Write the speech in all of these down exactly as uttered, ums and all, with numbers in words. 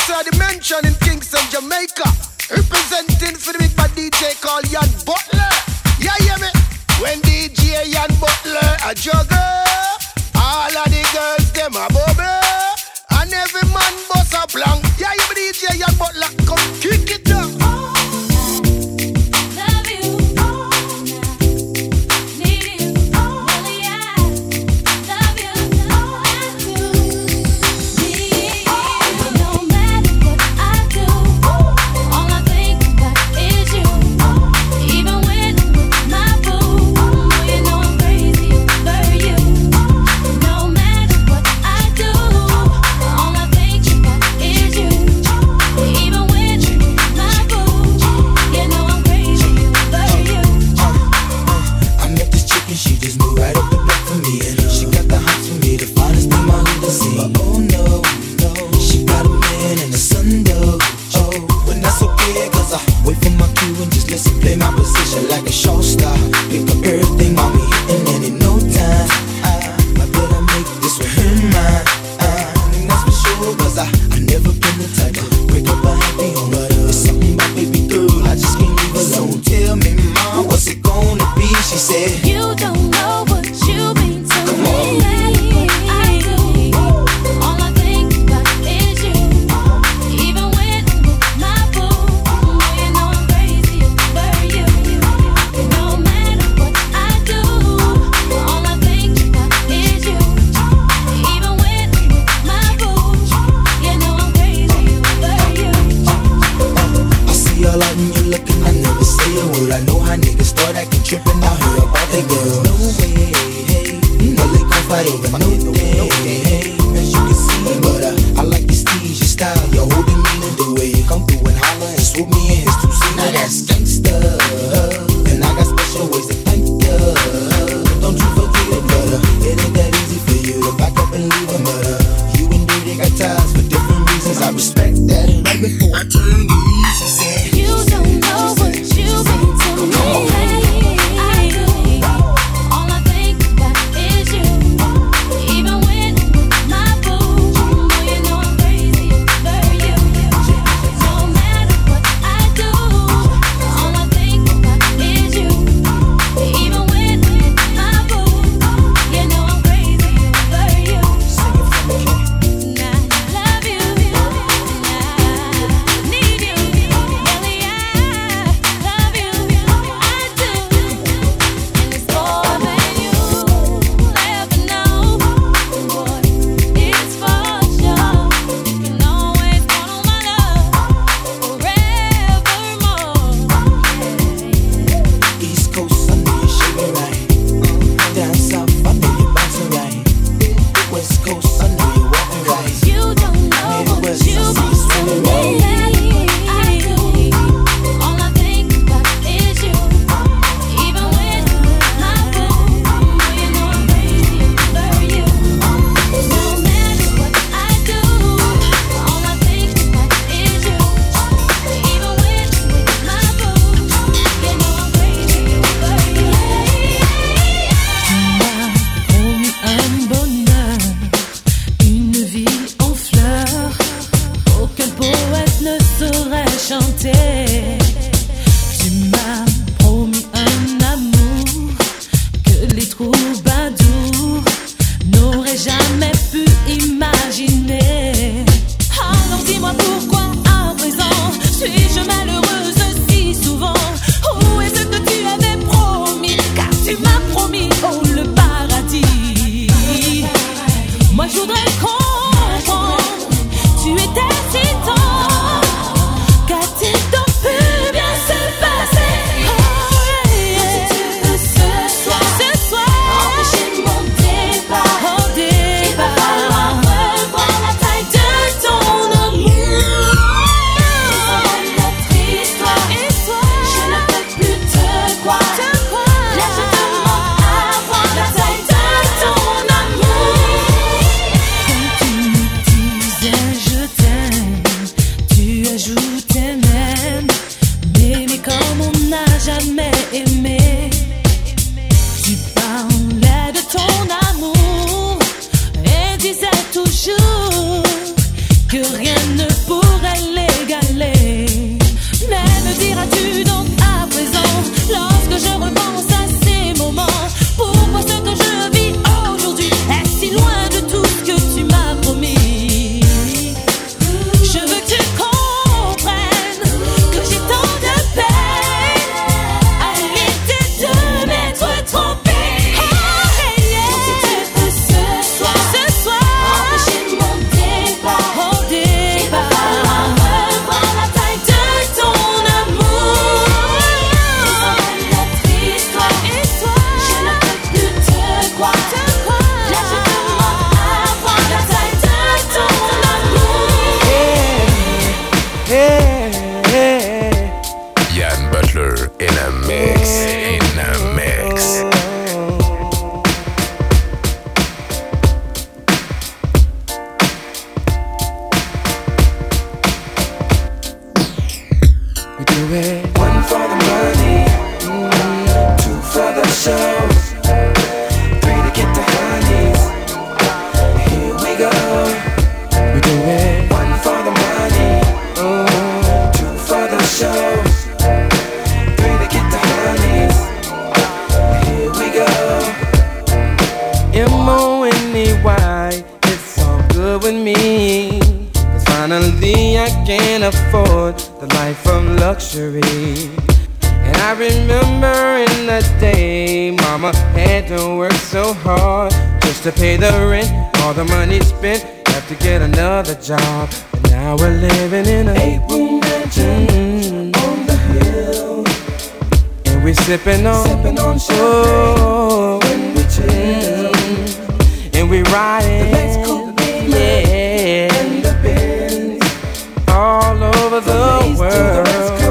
Extra Dimension in Kingston, Jamaica. Representing for the big bad D J called Yan Butler. Yeah, yeah, me. When D J Yan Butler a juggle, all of the girls them a bubble, and every man bust a plank. Yeah, you me D J Yan Butler, come kick it down. que rien ne pourra good with me. Cause finally I can afford the life of luxury. And I remember in the day mama had to work so hard just to pay the rent. All the money spent, have to get another job. And now we're living in a eight-room mansion mm-hmm. on the hill. And we're sipping on, sipping on champagne when we chill. Mm-hmm. And we riding the Lex Coupe, yeah, and the Benz all over the, the world.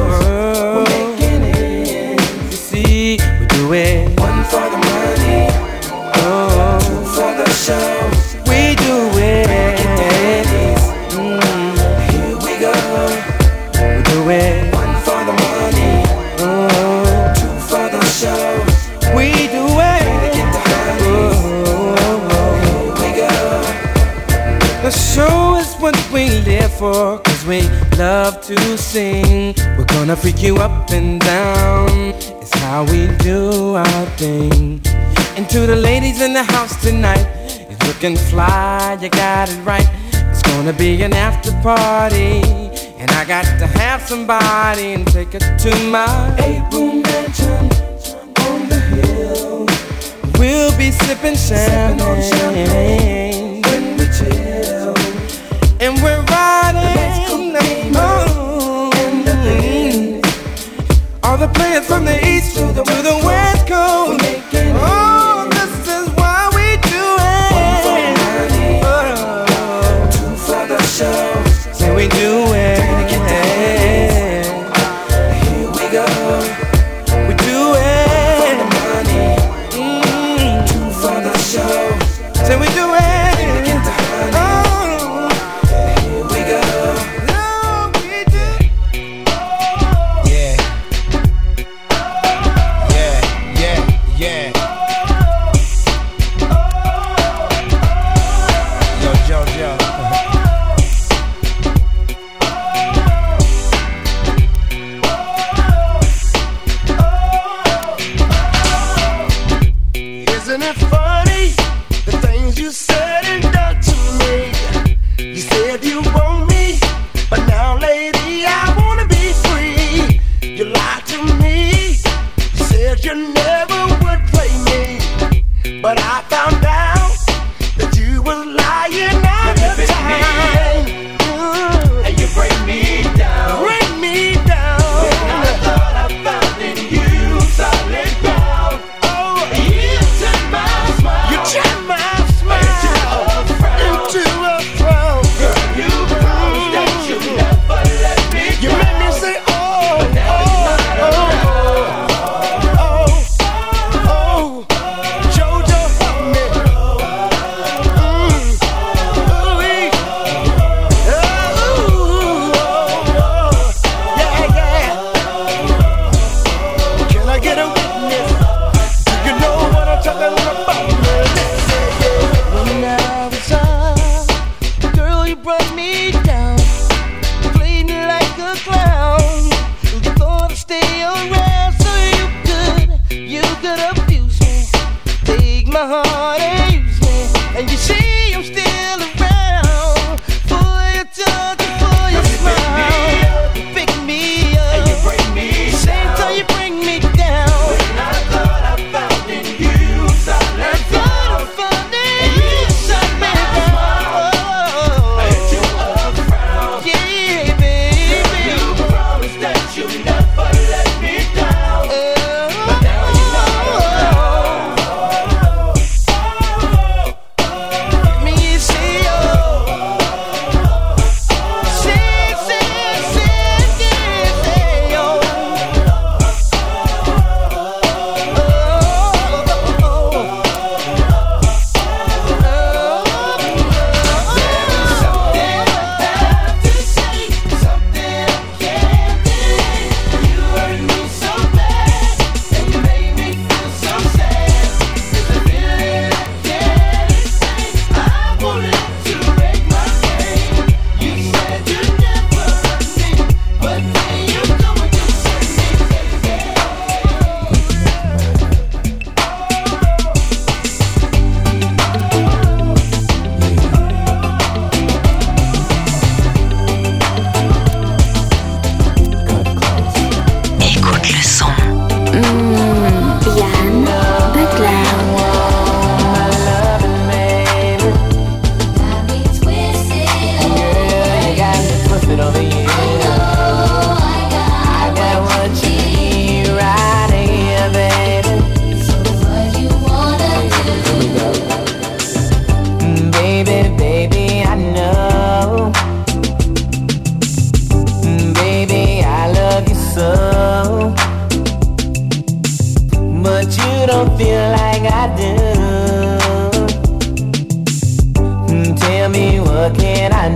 It. One for the money, oh, two for the show. We do it. Mm. Here we go. We do it. One for the money, oh, two for the show. We do it. Oh, here we go. The show is what we live for, cause we love to sing. We're gonna freak you up and down. It's how we do our thing. And to the ladies in the house tonight, it's looking fly, you got it right. It's gonna be an after party, and I got to have somebody and take it to my eight-room mansion on the hill. We'll be sipping champagne, champagne when we chill. And we're riding the moon and the Benz. All the players from the east to the, to the west coast. Oh, this is why we do it. One for the money, oh, two for the show. Say we do it. Here we go. We do it. One for the money, mm, two for the show. Say we do it.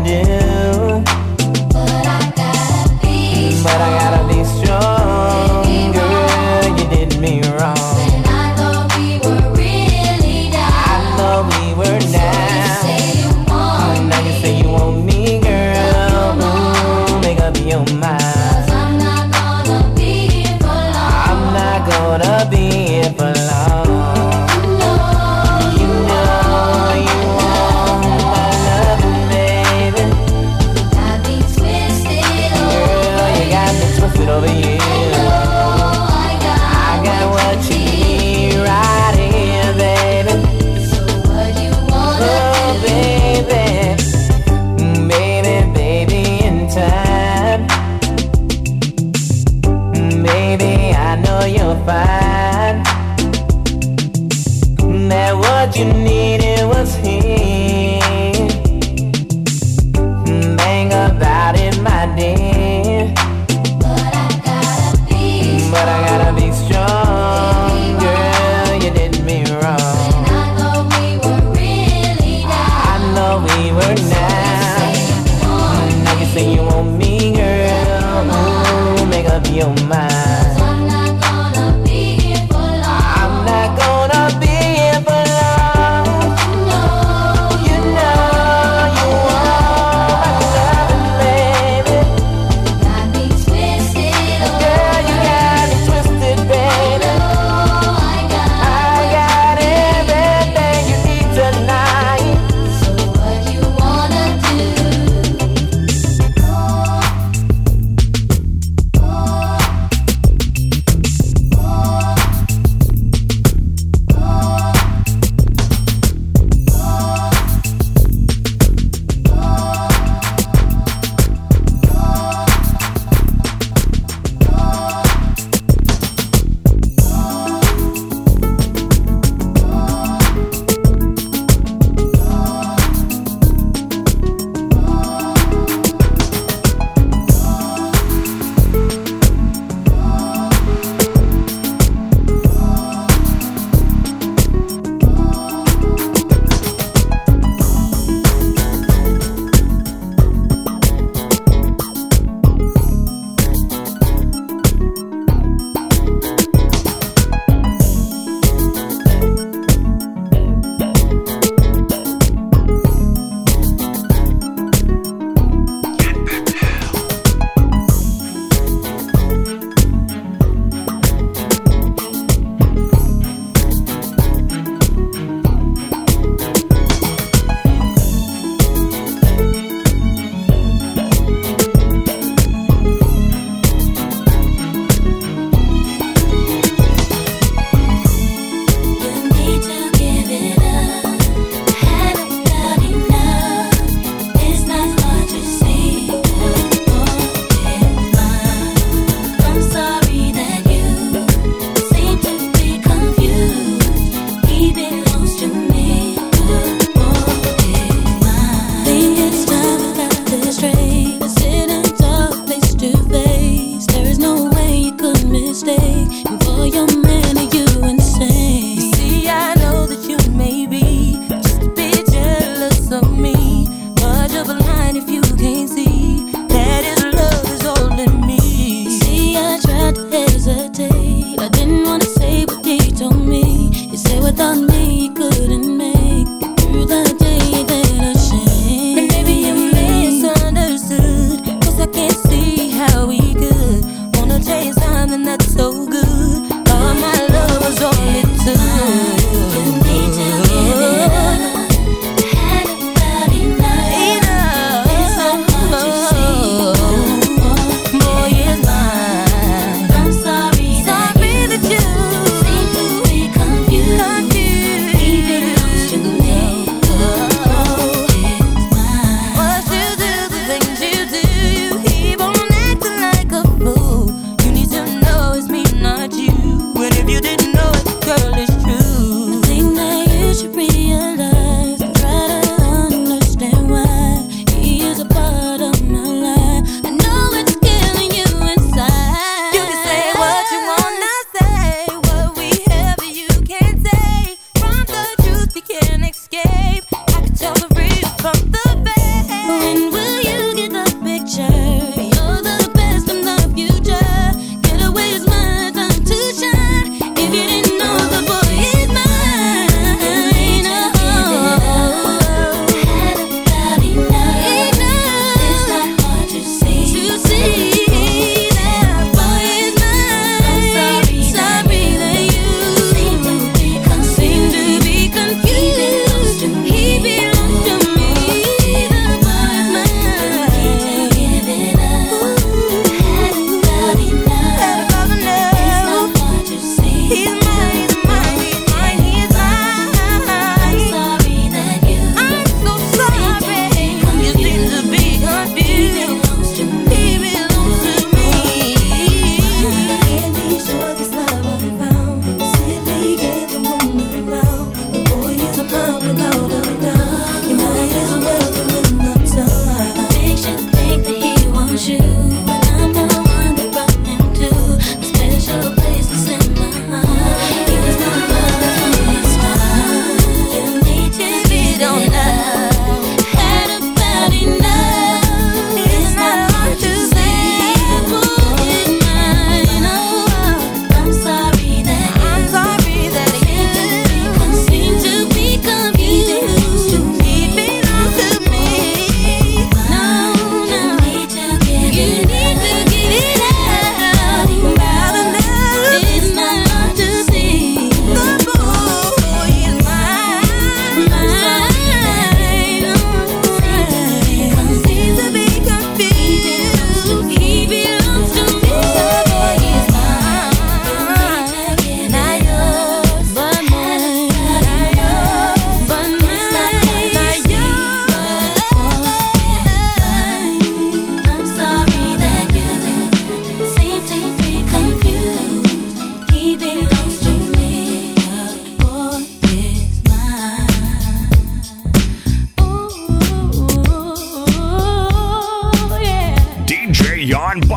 do. But I gotta be But I gotta be strong. Girl, you did me wrong. When I thought we were really down. I thought we were down. So you say you want me. Now you say you want me, girl. Ooh, make up your mind. Cause I'm not gonna be here for long. I'm not gonna be here for long. You know you want my love, baby.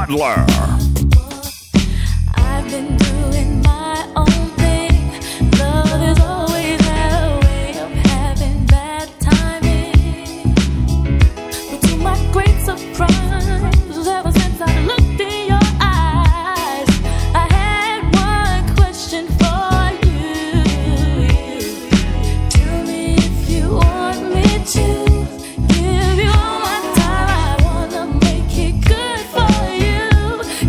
Butler. I've been doing my own thing. Love is always had a way of having bad timing. But to my great surprise, ever since I looked in your eyes, I had one question for you. Tell me if you want me to. Give you all my time, I wanna make it good for you.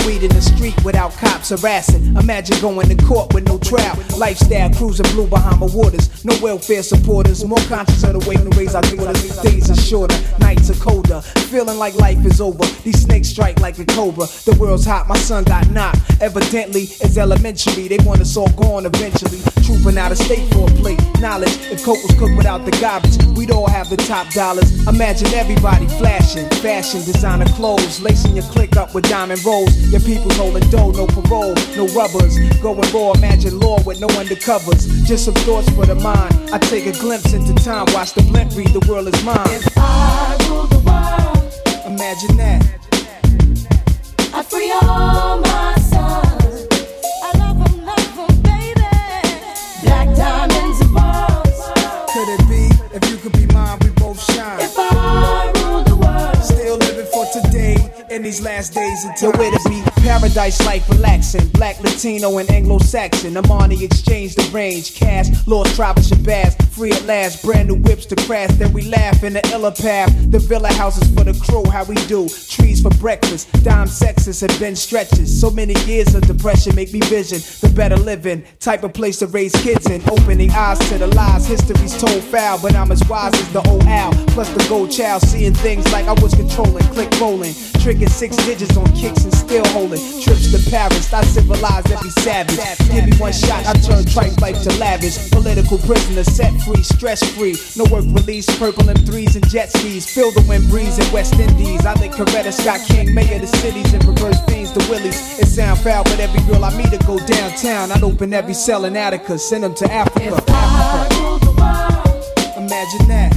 weed in the street without cops harassing. Imagine going to court with no trial. Lifestyle cruising blue Bahama waters. No welfare supporters. More conscious of the way we raise our daughters. Days are shorter, nights are colder. Feeling like life is over. These snakes strike like a cobra. The world's hot, my son got knocked. Evidently, it's elementary. They want us all gone eventually. Trooping out of state for a plate. Knowledge, if coke was cooked without the garbage, we'd all have the top dollars. Imagine everybody flashing. Fashion, designer clothes. Lacing your click up with diamond rolls. Your people's holding dough, no parole, no rubbers. Going raw, imagine law with no undercovers. Just some thoughts for the mind. I take a glimpse into time. Watch the blimp read, the world is mine. If I rule the world, imagine that. I'd free all my sons. I love them, love them, baby. Black diamonds and pearls. Could it be, if you could be mine, we both shine. If I rule the world, still living for today, in these last days until where to be. Paradise life relaxing, black, Latino, and Anglo-Saxon. Amani exchange the range, cash, lost tribal Shabazz, free at last, brand new whips to crash. Then we laugh in the illa path. The villa houses for the crew, how we do. Trees for breakfast, dime sexes have been stretches. So many years of depression make me vision the better living, type of place to raise kids in. Opening eyes to the lies, history's told foul, but I'm as wise as the old owl. Plus the gold child, seeing things like I was controlling, click rolling, tricking six digits on kicks and still holding. Trips to Paris, I civilize every savage. Give me one shot, I turn tripe life to lavish. Political prisoner, set free, stress free. No work release, purple M threes and jet skis. Feel the wind breeze in West Indies. I think Coretta Scott King, mayor of the cities, and reverse fiends to Willies. It sound foul, but every girl I meet to go downtown. I'd open every cell in Attica, send them to Africa. if I rule the world, imagine that.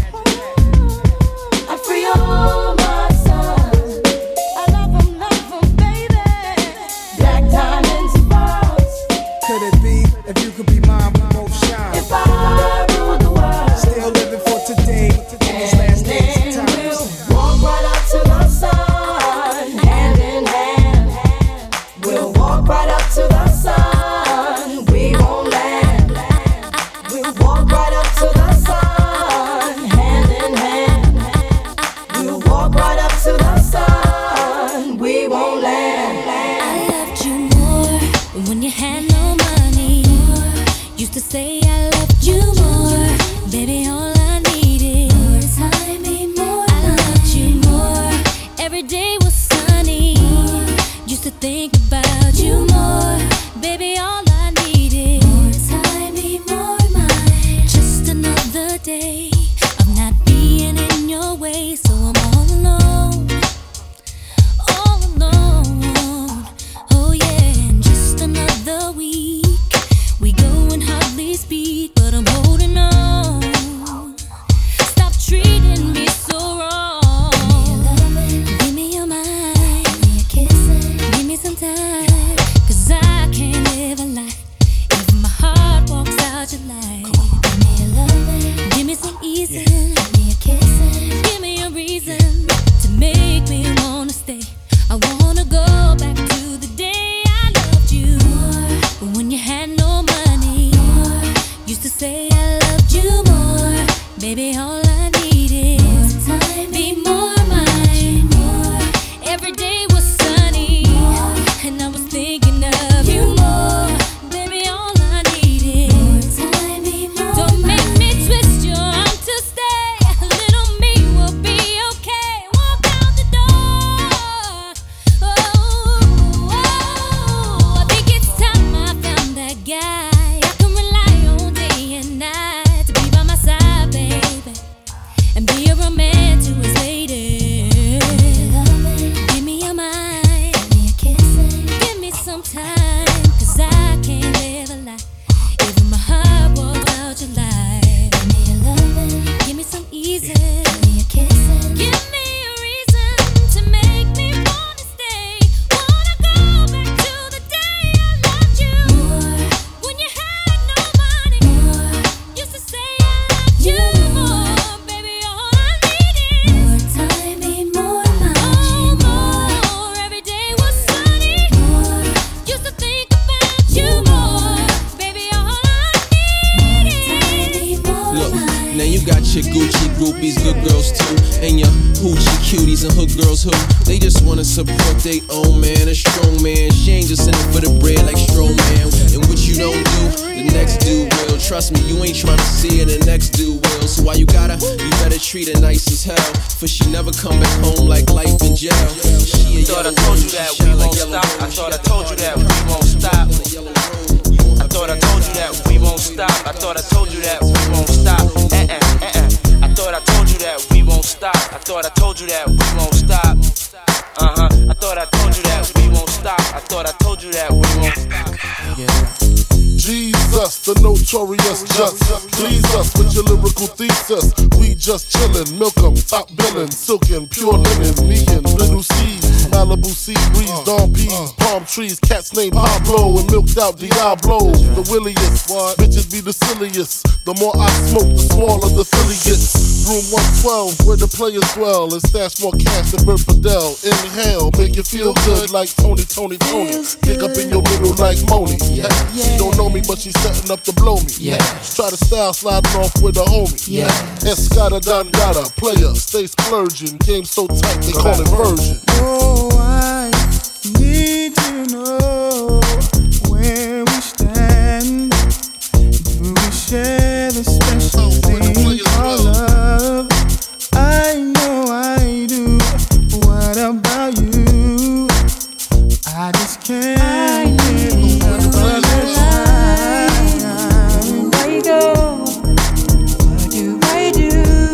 I'd free all my sons. I love them, love them, baby. Black diamonds and pearls. Could it be, if you could be mine, we both shine. If I rule the world, Still living for today, in these last days and times. we'll walk right up to the sun, hand in hand. We'll walk right up to the sun. We won't land. We'll walk right up to the sun, hand in hand. We'll walk right up to the sun. We won't land. I loved you more when you had no money. Used to say I loved you more, baby. All I need is time, more. I loved you more. Every day was sunny. Used to think about you more, baby. All I need is time, more. Mine. Just another day of not being in your way, so I'm all alone. All alone, oh yeah, and just another week. We go and hardly speak, but I'm holding on. Stop treating me so wrong. Give me your mind, give me some time, 'cause I can't live a life if my heart walks out your light. Give me some easy, give me a reason to make me wanna stay. I wanna go back to the day I loved you, but when you had no money. Used to say I loved you more, baby. All I need is time, be more mine. Every day was sunny, and I was thinking of you more, baby. All I need is time, be more. Don't make me twist your arm to stay. Little me will be okay. Walk out the door. Oh, oh, I think it's time I found that guy I can rely on day and night to be by my side, baby. your Gucci groupies, good girls too. And your hoochie cuties and hood girls who they just wanna support their own man, a strong man. She ain't just in it for the bread like Strowman. And what you don't do, the next dude will. Trust me, you ain't tryna see it, the next dude will. So why you gotta, you better treat her nice as hell. For she never come back home like life in jail. She a thought I told you that we won't stop. I thought I told you that we won't stop. I thought I told you that we won't stop. I thought I told you that we won't stop. Uh uh uh uh. I thought I told you that we won't stop. I thought I told you that we won't stop. Uh huh. I thought I told you that we won't stop. I thought I told you that we won't stop. Yeah. Jesus, the notorious just please us with your lyrical thesis. We just chillin', milk 'em, top billin', silkin', pure linen, me and little C's, Malibu sea breeze, dawn peas, palm trees, cats named Pablo and milked out Diablo. The williest, bitches be the silliest. The more I smoke, the smaller the Philly gets. Room one twelve, where the players dwell, and stash more cash than Bert Fidel. Inhale, make you feel good like Tony, Tony, Tony. Dig up in your middle like Moni. Yeah. She don't know me, but she's setting up to blow me. Yeah. Try to style sliding off with a homie. Yeah. Escada Dangada, player, stay splurging. Game so tight, they call it version. Oh, I need to know where we stand. Do we share the special thing called love? I know I do. What about you? I just can't get enough of it. Where you go? What do I do?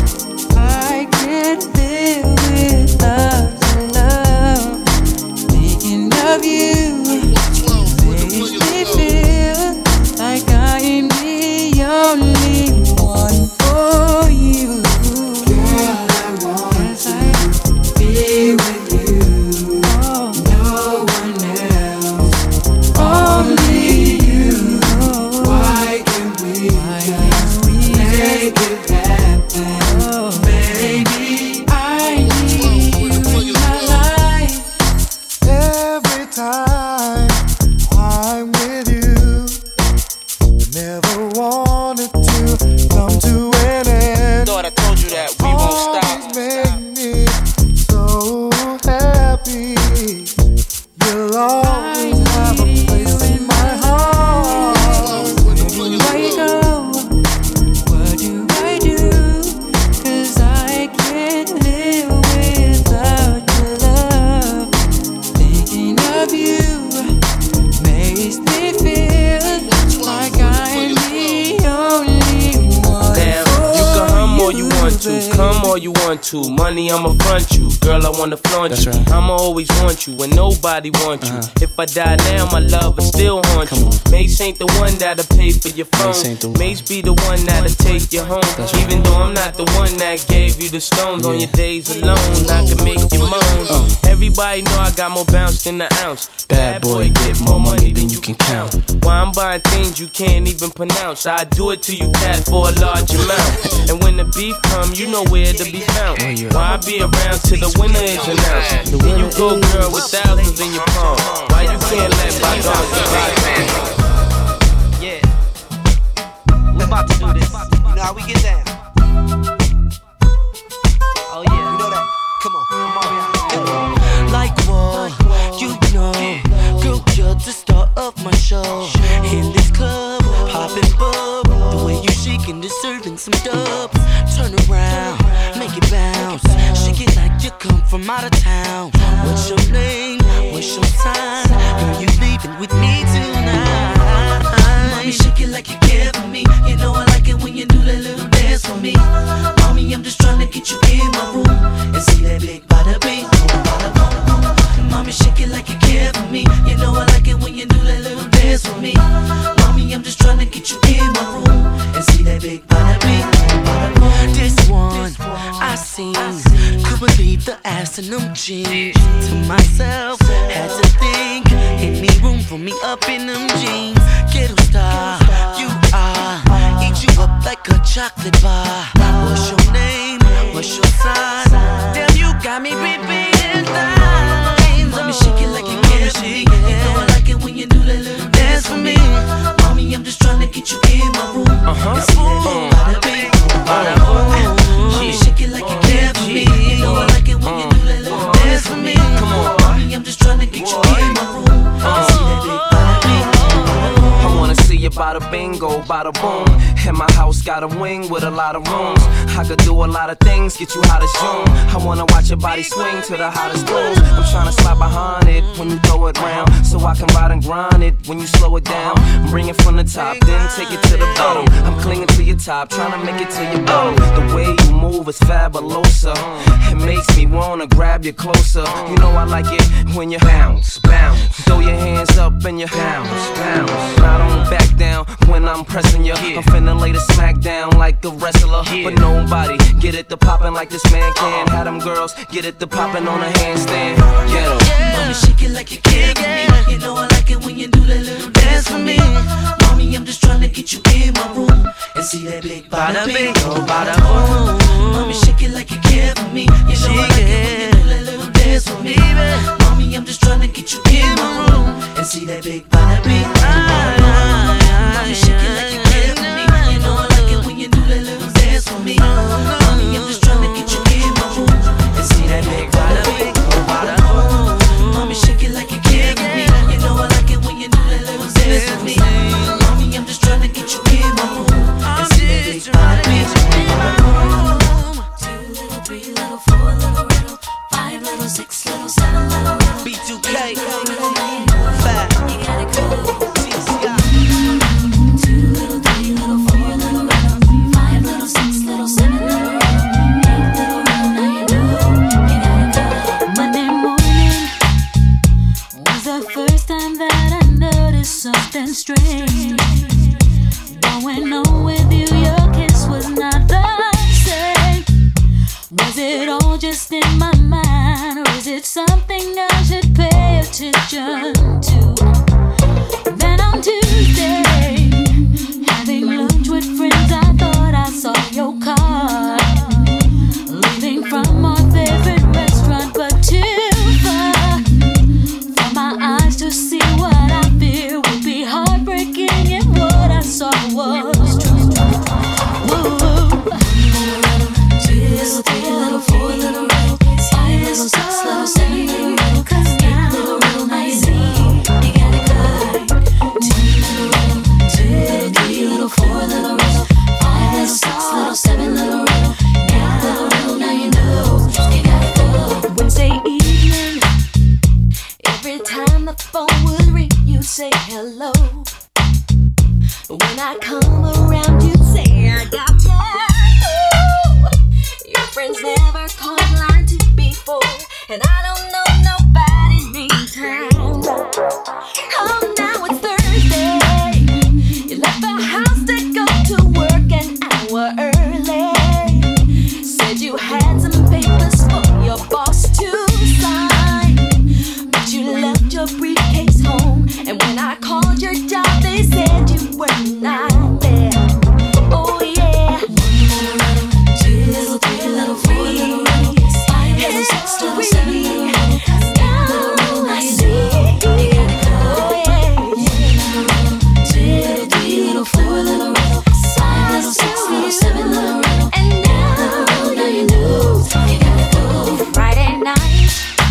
I can't live without your love. Thinking of you makes me feel like I am the only one for you. Girl, I want to be with you. Oh, no one else, only you. Why can't we just make it happen? Oh, baby, I need you in my life. Every time I'm with you, never wanted to come to an end. Thought I told you that we won't stop. Always make me so happy. You'll always have a place in my heart. Where you go? What do I do? 'Cause I can't live without your love. Thinking of you makes me feel like I'm the only one. Damn, you can hum all you want to, come all you want to. Money, I'ma front you. Girl, I wanna flaunt you. Right. I'ma always want you when nobody wants you. Uh-huh. If I die now, my love will still haunt you. Mace ain't the one that'll pay for your phone. Mace be the one that'll take you home. Right. Even though I'm not the one that gave you the stones, yeah. On your days alone, I can make you moan. Uh. Everybody know I got more bounce than an ounce. Bad boy, get more money than you can count. Why I'm buying things you can't even pronounce. I do it to you, cat, for a large amount. And when the beef come, you know where to be found. Why I be around till the winner is announced? Then you go, girl, with thousands in your palm. Why you can't let bygones be bygones? Yeah, we about to do this. You know how we get down. Oh yeah, you know that. Come on, come on, come on. Like what? You know, girl, you're the star of my show. In this club, popping bub. The way you shaking, deserving some dubs. Turn around, make it bounce. Shake it like you come from out of town. What's your name? What's your sign? Girl, you leaving with me tonight. Mommy, shake it like you care for me. You know I like it when you do that little dance for me. Mommy, I'm just trying to get you in my room and see that big bada bing, bada boom. Mommy, shake it like you care for me. You know I like it when you do that little dance for me. Mommy, I'm just trying to get you in my room and see that big bada bing, bada boom. This one I seen, could believe the ass in them jeans. To myself, had to think, any room for me up in them jeans. Ghetto star, you are, eat you up like a chocolate bar. What's your name? What's your sign? Damn, you got me repeating lines. Mommy, shake it like you care for me. You know I like it when you do that little dance for me. Mommy, I'm just trying to get you in my room and see that big bada bing, bada boom. boom. And my house got a wing with a lot of rooms. I could do a lot of things, get you hot as June. I wanna watch your body swing to the hottest tunes. I'm tryna slide behind it when you throw it round, so I can ride and grind it when you slow it down. Bring it from the top, then take it to the bottom. I'm clinging to your top, tryna make it to your bottom. The way you move is fabulosa. It makes me wanna grab you closer. You know I like it when you bounce, bounce. Throw your hands up and you bounce, bounce. I don't back down when I'm pressing you. I'm finna lay the smack down like a wrestler. But nobody get it to poppin' like this man can. Had them girls get it to poppin' on a handstand. Get 'em. Mommy, shake it like you care for me. You know I like it when you do that little dance for me. Mommy, I'm just trying to get you in my room and see that big bada bing, oh bada boom. Mommy, shake it like you care for me. You know I like it when you do that little dance for me. Mommy, I'm just trying to get you in my room and see that big bada bing, oh bada boom. Mommy, shake it like you care for me. You know I like it when you do that little dance for me. Mommy, I'm just trying to get you in my room and see that big bada bing, oh bada boom. Mommy, shake it like you care for me. You know I like it when you do that little dance for me. Mommy, I'm just trying to get you in my room and see that big bada bing, oh bada boom. Two little, three little, four little, riddle, five little, six little, seven little, riddle. B two K, Five. You got it cool. Two little, three little, four little, riddle, five little, six little, seven little, riddle, eight little, riddle. Now you know you got it cool. Monday morning was the first time that I noticed something strange going on with you. Your kiss was not the same. Was it all just in my mind, or is it something I should pay attention to? Then on Tuesday, having lunch with friends, I thought I saw your car leaving from our favorite restaurant, but too far for my eyes to see what I fear would be heartbreaking, and what I saw was true. Whoa. Two little, three little, four little, riddle, five little, six little, seven little, riddle, eight little, riddle. Now you see you got it good. Two little, riddle, two little, three little, four little, riddle, five little, six little, seven little, riddle, eight little, riddle. Now you know you got it good. Wednesday evening, every time the phone would ring, you'd say hello. When I come around, you'd say I got more. Your friends never called line two before, and I don't know nobody meantime. Oh, now it's Thursday. You left the house to go to work an hour early. Said you had some papers for your boss to sign, but you left your briefcase home. And when I called your job, they said you were not there. Oh yeah. Two little, three little, four little, five little, six little, seven little, eight little, riddle. Now you see you got it good. Two little, three little, four little, riddle, five little, six little, seven little, riddle, and now, now you know you got it good. Friday night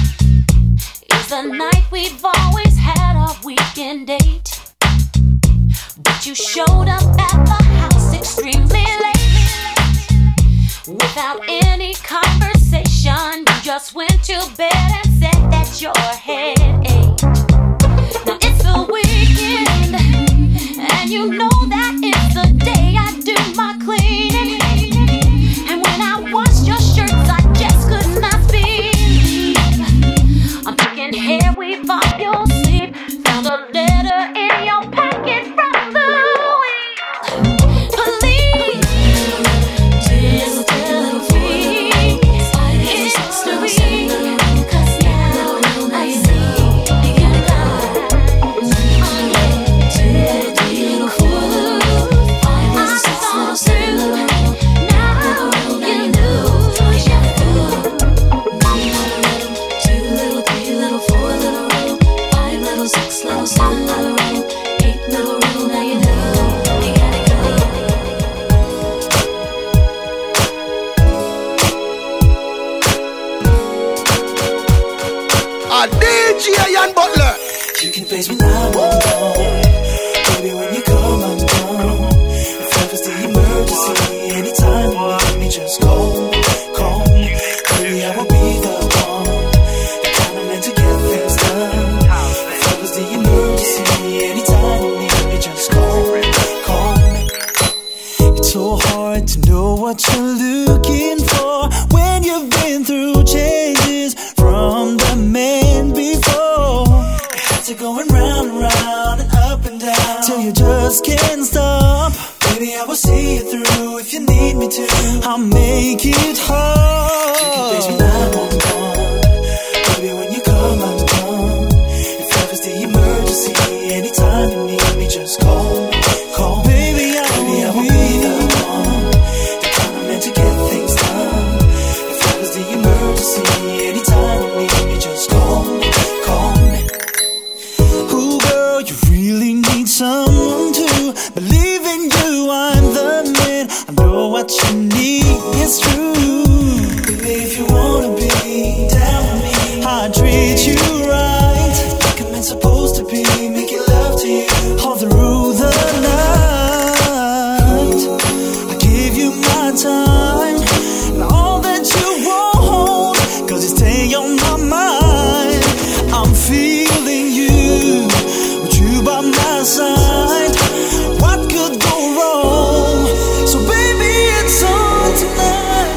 is the night we've always had our weekend date, but you showed up at the house extremely late. Without any conversation, you just went to bed and said that your head ached. Now it's the weekend, and you know that it's the day I do my cleaning. And when I washed your shirts, I just could not believe I'm thinking, here we off your sleep. Found a letter in your pocket from the police. Just a little free history, 'cause now I see you got it right. Oh yeah. Two little, three little, four little, five little, six little, seven little, now you know you got it good. Two little, three little, four little, five little, six little, seven little, eight little, riddle. Now you know you got it good. A D J Ian Butler. You can face when I won't go. Baby, when you come undone, so hard to know what you're looking for when you've been through changes from the man before. It's going round and round and up and down till you just can't stop. Baby, I will see you through if you need me to. I'll make it hard. You can base me nine one one. Baby, when you come, I'm gone. If ever's the emergency, anytime you need me, just call. Call. Baby, I Baby, will I will be, be the one. The kind of man to get things done. If ever's the emergency, anytime you need me, just call. Call me. Ooh, girl, you really need someone to believe in you. I'm the man. I know what you need is true. Baby, if you wanna be down with me, I'll treat you right like a man's supposed to be. Making love to you all through the night. I give you my time and all that you want, cause you stay on my mind. I'm feeling you, with you by my side. What could go wrong? So baby, it's on tonight.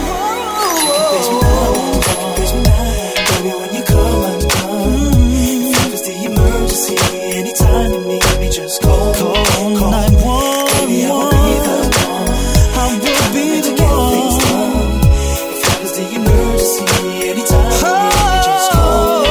Baby, when you come, I'm done. If ever's the emergency, anytime you need me, just call. Call, call nine one one. Baby, I will be the one. I will be the one. If ever's the emergency, anytime you need me, just call.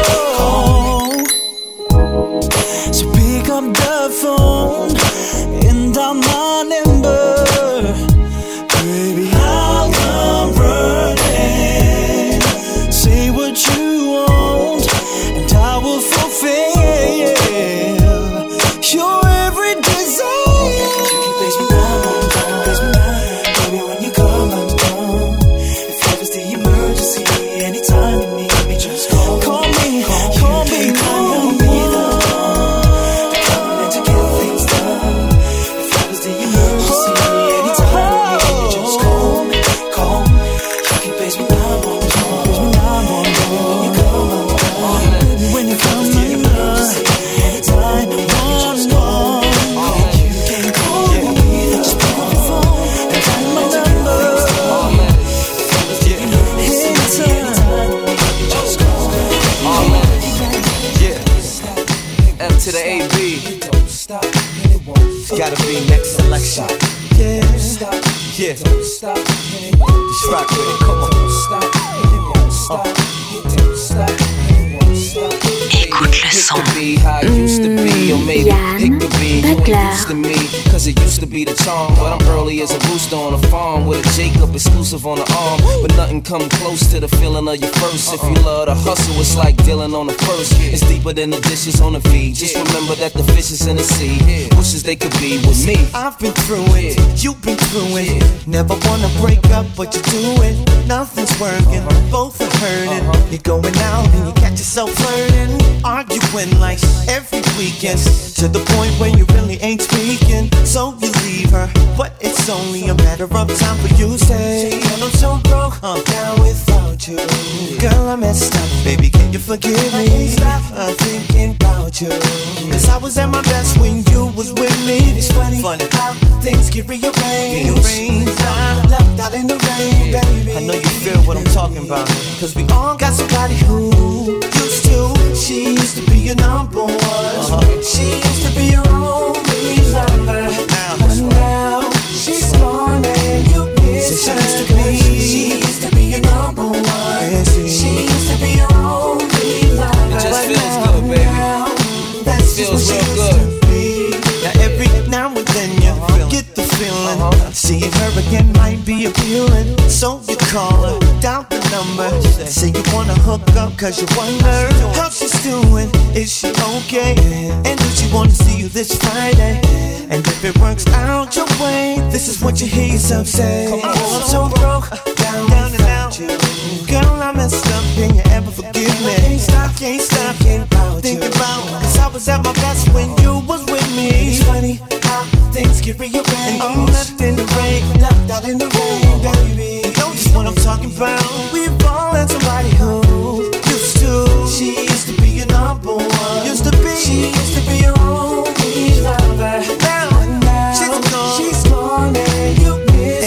Call. So pick up the phone and dial my number. Baby, I'll come running. Say what you want and I will fulfill your every desire. You can base me down, base me down. Baby, when you come, I'm gone. If ever's the emergency, anytime you need me, just call. Call me, call, call me, call me. The kind of man to get things done. If ever's the emergency, anytime you need me, just call me, call me. You can base me down, base me down, when you come, I'm gone. When you come, I'm gone. Anytime you need me, just call. You can call me, just pick up the phone and dial my number. Anytime you need me, just call. Yeah. M to the A B. It's gotta be next selection. Yeah. Yeah. Just rock with it. Come on. Écoute le son. Be how it used to be, or maybe it could be you ain't used to me, cause it used to be the charm. But I'm early as a rooster on a farm with a Jacob exclusive on the arm. But nothing come close to the feeling of your first. If you love to hustle, it's like dealing on the first. It's deeper than the dishes on the feed. Just remember that the fish is in the sea. Wishes they could be with me. I've been through it, you've been through it. Never wanna break up, but you do it. Nothing's working, both are hurting. You're going out and you catch yourself flirting, arguing like every weekend, to the point where you really ain't speaking. So you leave her, but it's only a matter of time for you to say, and I'm so broke, I'm down without you. Girl, I messed up, baby, can you forgive me? Stop uh, thinking about you, cause I was at my best when you was with me. It's funny, funny how things get rearranged. I'm left out in the rain, baby. I know you feel what I'm talking about, cause we all got somebody who used to. She used to be your number one. Uh-huh. She used to be your only lover. Now, but now she's gone and you miss her. She used to be, she used to be your number one. Yeah, she, she used to be your only lover. It just but feels now, good, baby. Now, that's it feels just real what good. Now every now and then you uh-huh. get the feeling uh-huh. seeing her again might be appealing. So you call her, dial the number, say you wanna hook up cause you wonder how she's doing, is she okay? And does she wanna see you this Friday? And if it works out your way, this is what you hear yourself say. Oh, I'm so broke, down, down and out. Girl, I messed up, can you ever forgive me? I can't stop, can't stop, can't about think about. Cause I was at my best when you was with me. It's funny how things get rearranged. And I'm left in the rain, left out in the rain, baby. You know just what I'm talking about. We've all had somebody who used to. She used to be your number one. Used to be. She used to be your only lover. Now, now she's gone. She's gone and you miss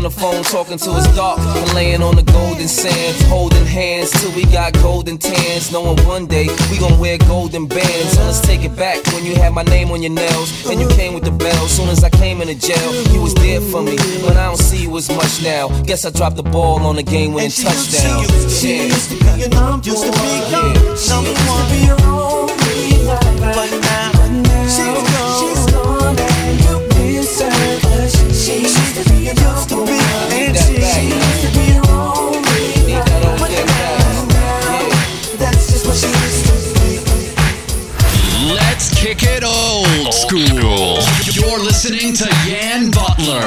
on the phone talking to his dark and laying on the golden sands, holding hands till we got golden tans, knowing one day we gon' wear golden bands. So let's take it back when you had my name on your nails and you came with the bell. Soon as I came into jail, you was there for me, but I don't see you as much now. Guess I dropped the ball on the game-winning touchdown. She used to be your number, used to be your number one, be your only life, but now she's gone. She's gone and you miss her. 'Cause she used to be your number one, and she used to be your only life, but now that's just what she used to be. Let's kick it old school. You're listening to Yan Butler.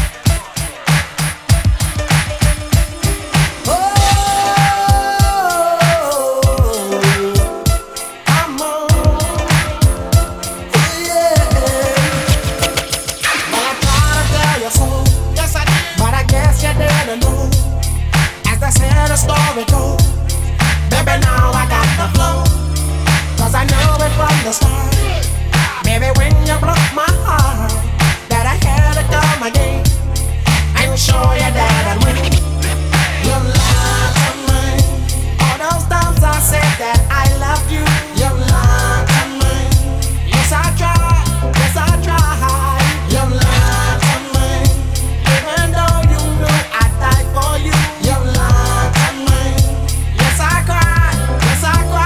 Story goes, baby, now I got the flow, 'cause I know it from the start. Baby, when you broke my heart, that I had to come again and show you that I'd win. You lied to me. All those times I said that I loved you, you lied to me. Yes, I tried, yes, I tried. You lied to me. Even though you knew I'd die for you, you lied to me. Yes, I cried, yes, I cried.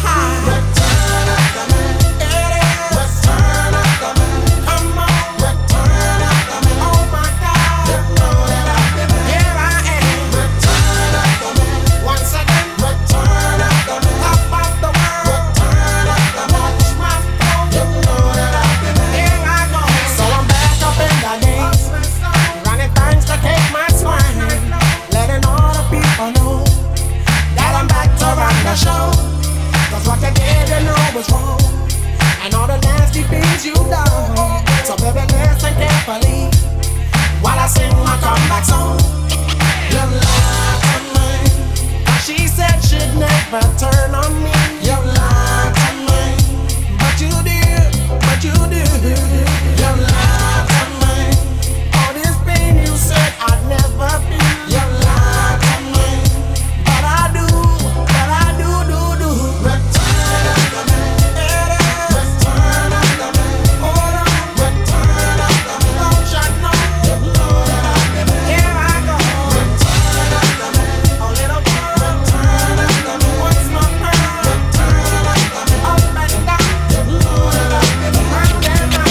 Return of the man, it is. Return of the man, come on. Return of the man, oh my God. You know that I've been here, I am. Return of the man, once again. Return of the man, top of the world. Return of the man, watch my phone. You know that I've been here, I go. So I'm back up in the days, running things to take my swine, letting all the people know that I'm back to run the show. 'Cause what you did, you know was wrong, and all the nasty things you done. So baby, listen carefully while I sing my comeback song. You lied to me, 'cause she said she'd never turn on me. You lied to me, but you did, but you did. You lied to me, all this pain you said I'd never feel. You lied to me, but I do, but I do, do, do. Return of the man, it is. Return of the man, hold on. Return of the man, don't you know? You know that I've been here, I go. Return of the man, a little girl. Return of the man, what's my pearl? Return of the man, up and down. You know that I've been right there now.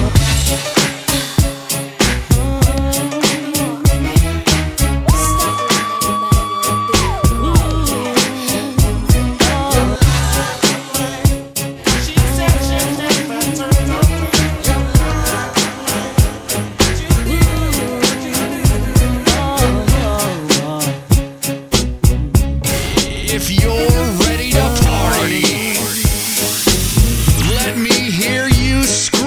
If you're ready to party, let me hear you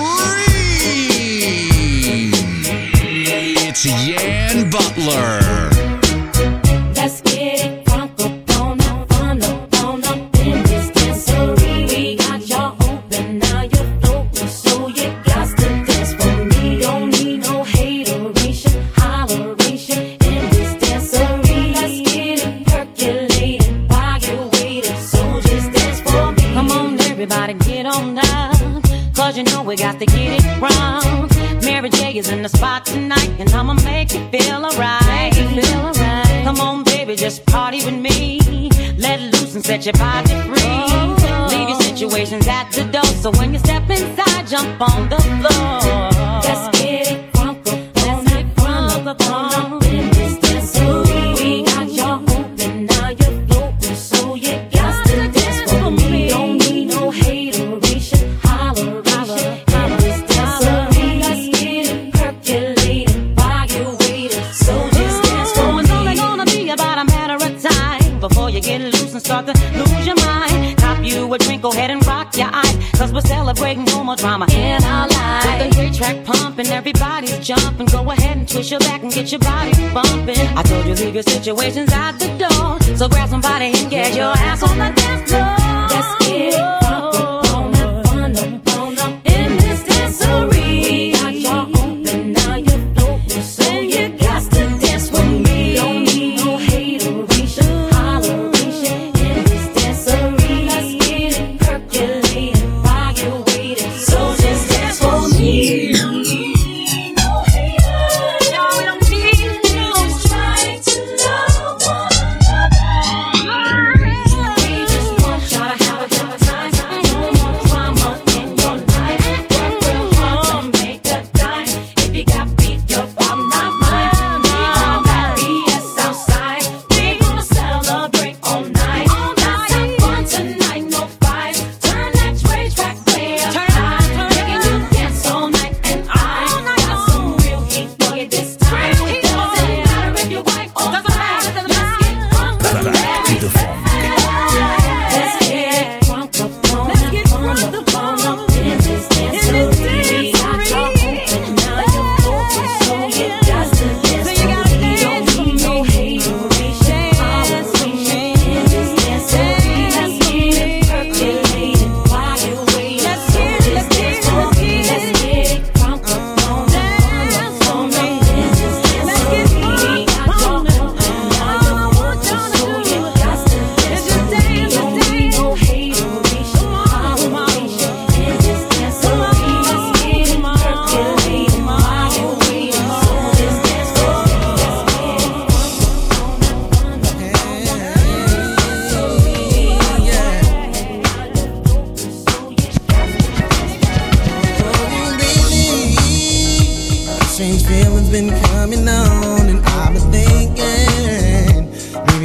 scream. It's Yan Butler. Let's get it crunk up on up, on up, on up in this dancery. We got y'all open, now you're floating, so you got to dance for me. Don't need no hateration, holleration in this dancery. Let's get it percolated while you're waiting, so just dance for me. Come on, everybody, get on up, 'cause you know we got to get it wrong. Mary J is in the spot tonight, and I'ma make you feel alright. Feel alright. Come on, baby, just party with me. Let loose and set your body free. Leave your situations at the door, so when you step inside, jump on the floor. Let's get it crunk up, let's get crunk up on in this dancery. We got y'all open, now you're floating, so you got to dance for me. Don't need no hateration, holleration in this dancery. Let's get it percolated while you're waiting, so just dance for me. It's only gonna be about a matter of time before you get loose and start to lose your mind. Cop you a drink, go ahead and rock your eyes, 'cause we're celebrating no more drama in our lives. With the great track pumping, everybody's jumping. Go ahead and twist your back and get your body bumping. I told you leave your situations at the door, so grab somebody and get your ass on the dance floor. Let's get it crunk up, on up, on up, on up in this dancery. We got y'all open, now you're floating, so you got to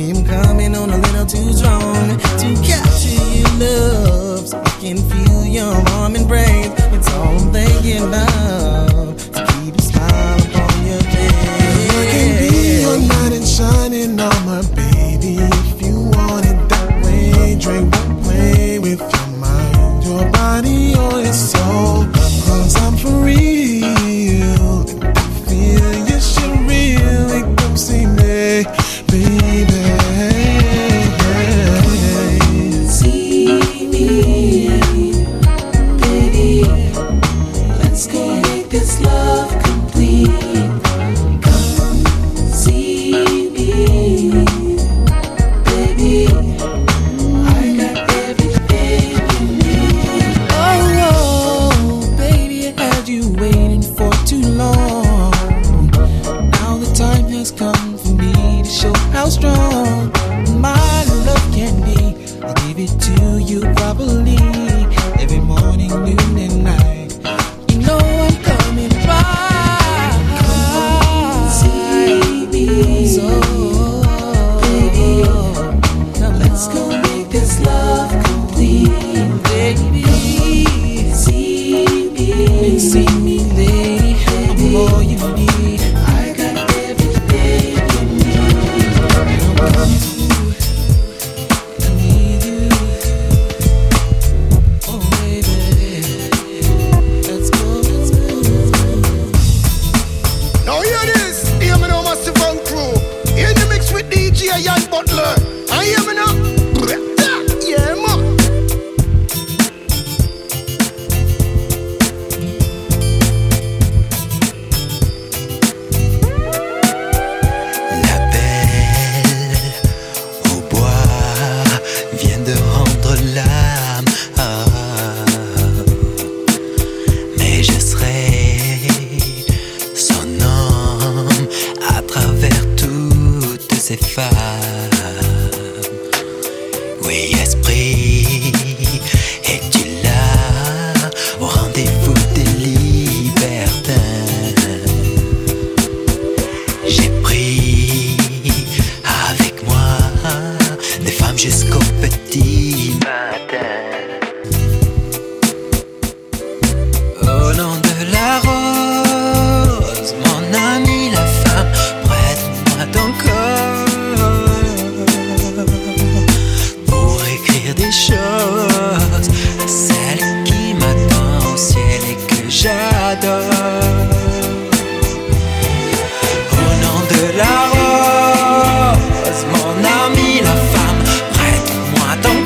am coming on a little too strong to capture your love, so I can feel your warm embrace. It's all I'm thinking about, to keep a smile upon your face. I can be your knight in shining armor, baby, if you want it that way. Drink, play with your mind, your body, or your soul. Cause I'm for real, and I feel you should really come see me, baby. See me, baby. Let's go make this love complete. Come see me, baby. I got everything you need. Oh, oh, baby, I had you waiting for too long. Now the time has come for me to show how strong my love can be. I'll give it to you properly, every morning, noon, and night. You know I'm coming right. See me, So, baby. come Let's on, go make this love complete. baby. See me, See me, lady, I'm all you need. I got everything you need. I need you. Oh, baby. Let's go, let's go, let's go. Now hear this, hear me now, Massive Funk Crew. In the mix with D J Ian Butler. And hear me now. Yeah, man. La belle au bois vient de rendre l'âme. Ah. Mais je serai son homme à travers toutes ces femmes. Oui, esprit, es-tu là au rendez-vous des libertins? J'ai pris avec moi des femmes jusqu'au petit matin. Au nom de la rose, mon ami la femme, prête-moi ton corps pour écrire des choses à celle qui m'attend au ciel et que j'adore. Au nom de la rose, mon ami la femme, prête-moi ton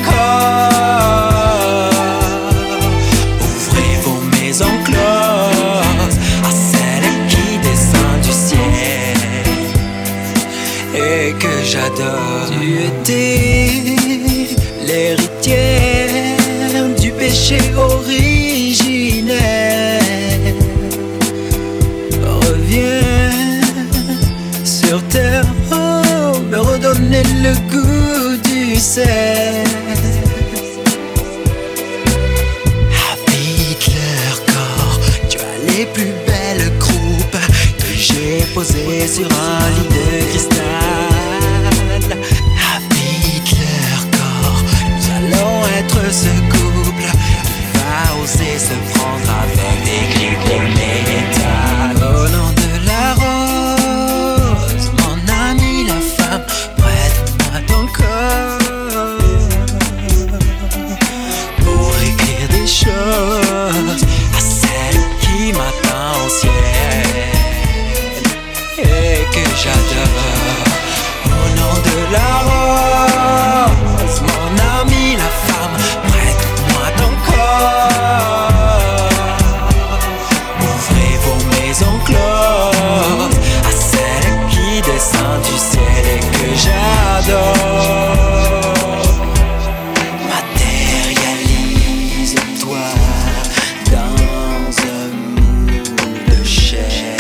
corps. Ouvrez vos maisons closes à celle qui descend du ciel et que j'adore. Tu étais l'héritière du péché originel. Reviens sur terre, oh, me redonner le goût du sel. Habite leur corps, tu as les plus belles croupes que j'ai posées sur un lit de cristal. Habite leur corps, nous allons être ce couple qui va oser se prendre avec des clips de métal. Au nom de la rose, mon ami la femme, prête-moi ton corps pour écrire des choses à celle qui m'attend au ciel et que j'adore. Au nom de la rose, mon ami la femme, prête-moi ton corps. Ouvrez vos maisons closes à celle qui descend du ciel et que j'adore. Matérialise-toi dans un moule de chair.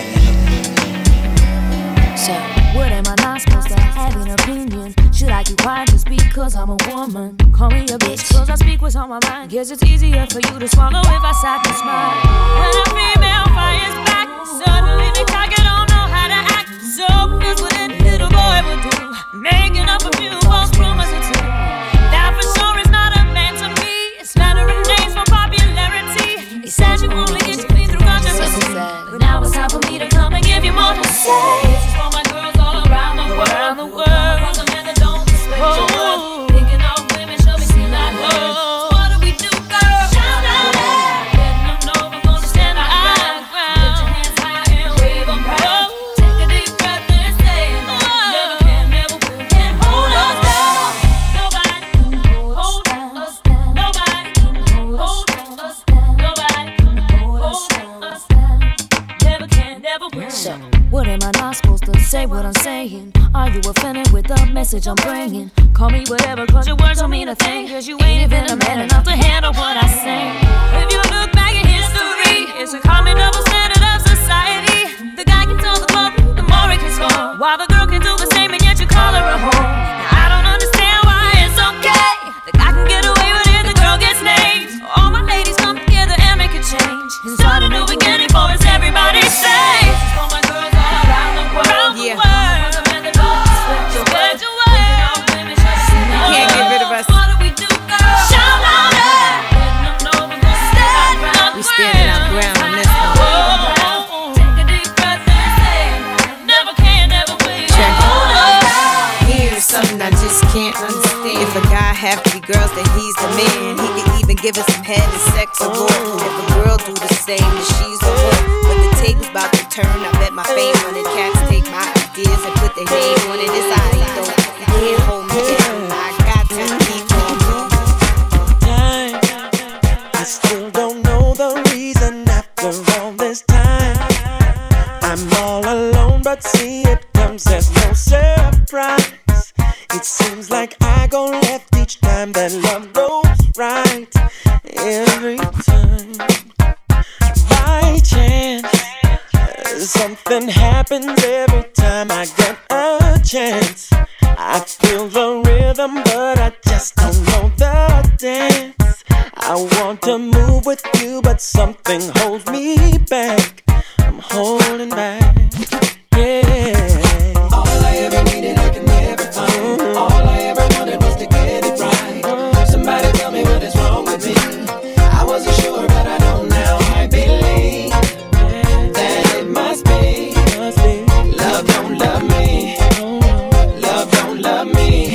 So, what am I not supposed to have an opinion? Should I keep quiet just because I'm a woman? Call me a bitch, cause I speak what's on my mind. Guess it's easier for you to swallow if I sat and smile. When a female fires back, suddenly they talk and don't know how to act. So, here's what a little boy boy would do, making up a few false promises or two. That for sure is not a man to me. It's slandering names for popularity. He says you only get to me through controversy, but now it's time for me to come and give you more to say. This is for my girls all around the world, around the world. For the men that don't respect your worth, picking off women, show me see like her. What do we do, girl? Shout out, letting them know we're gonna stand our ground. Put your hands high and wave them proud. Take a deep breath and say, never can, never will, can't hold us down. Nobody can hold us down. Nobody can hold us down. Nobody can hold us down. Never can, never will. So, what am I not supposed to say what I'm saying? Are you offended with the message I'm bringing? Call me whatever, cause your words don't mean a thing. Cause you ain't even a man enough to handle what I say. If you look back at history, it's a common double standard of society. The guy can tell the club, the more he can score, while the girl can do the same and yet you call her a whore. Now I don't understand why it's okay. The guy can get away with it, the girl gets named. All my ladies come together and make a change and start a new beginning for us, everybody say. This is for my girls all around the world. Yeah. Can't get rid of us. We standing our ground on this one. Check. Here's something I just can't understand. If a guy have three girls, then he's the man. He can even give us some head and sex or more. If a girl do the same, then she's the whore. But the table's about to turn. I bet my fame on it. Cats take my ideas and put their name on it. It's how you don't. You can't hold me down. I got to keep on moving. I still don't know the reason after all this time. I'm all alone, but see it comes as no surprise. It seems like I go left each time that love goes right. Every time, by chance, something happens every time I get a chance. I feel the rhythm, but I just don't know the dance. I want to move with you, but something holds me back. I'm holding back, yeah. All I ever needed, I can never find. All I ever wanted was to get it right. Somebody tell me what is wrong with me. I wasn't sure, but I know now. I believe that it must be love don't love me. Love don't love me.